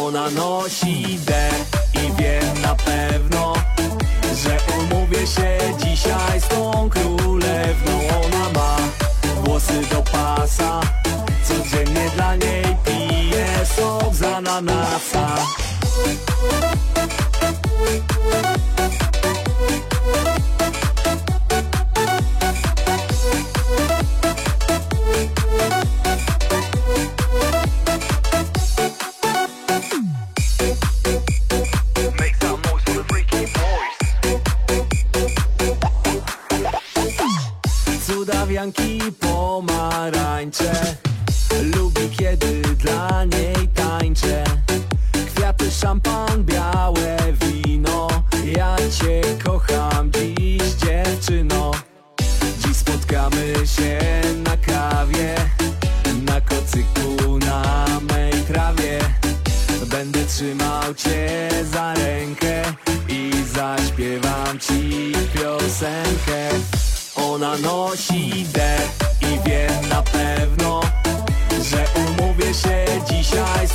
Ona nosi D i wiem na pewno, że umówię się dzisiaj z tą królewną. Ona ma włosy do pasa, codziennie dla niej piję sok z ananasa. Cudawianki pomarańcze, lubi kiedy dla niej tańczę. Kwiaty, szampan, białe wino, ja cię kocham dziś, dziewczyno. Dziś spotkamy się na kawie, na kocyku, na mej trawie. Będę trzymał cię za rękę i zaśpiewam ci piosenkę. Ona nosi D i wiem na pewno, że umówię się dzisiaj